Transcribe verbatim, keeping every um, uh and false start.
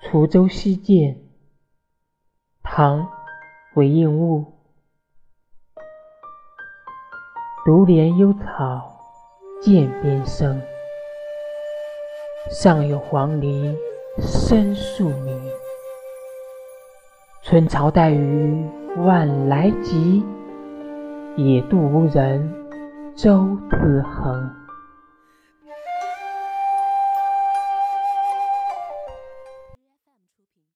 滁州西涧，唐·韦应物。独怜幽草涧边生，上有黄鹂深树鸣。春潮带雨晚来急，野渡无人舟自横。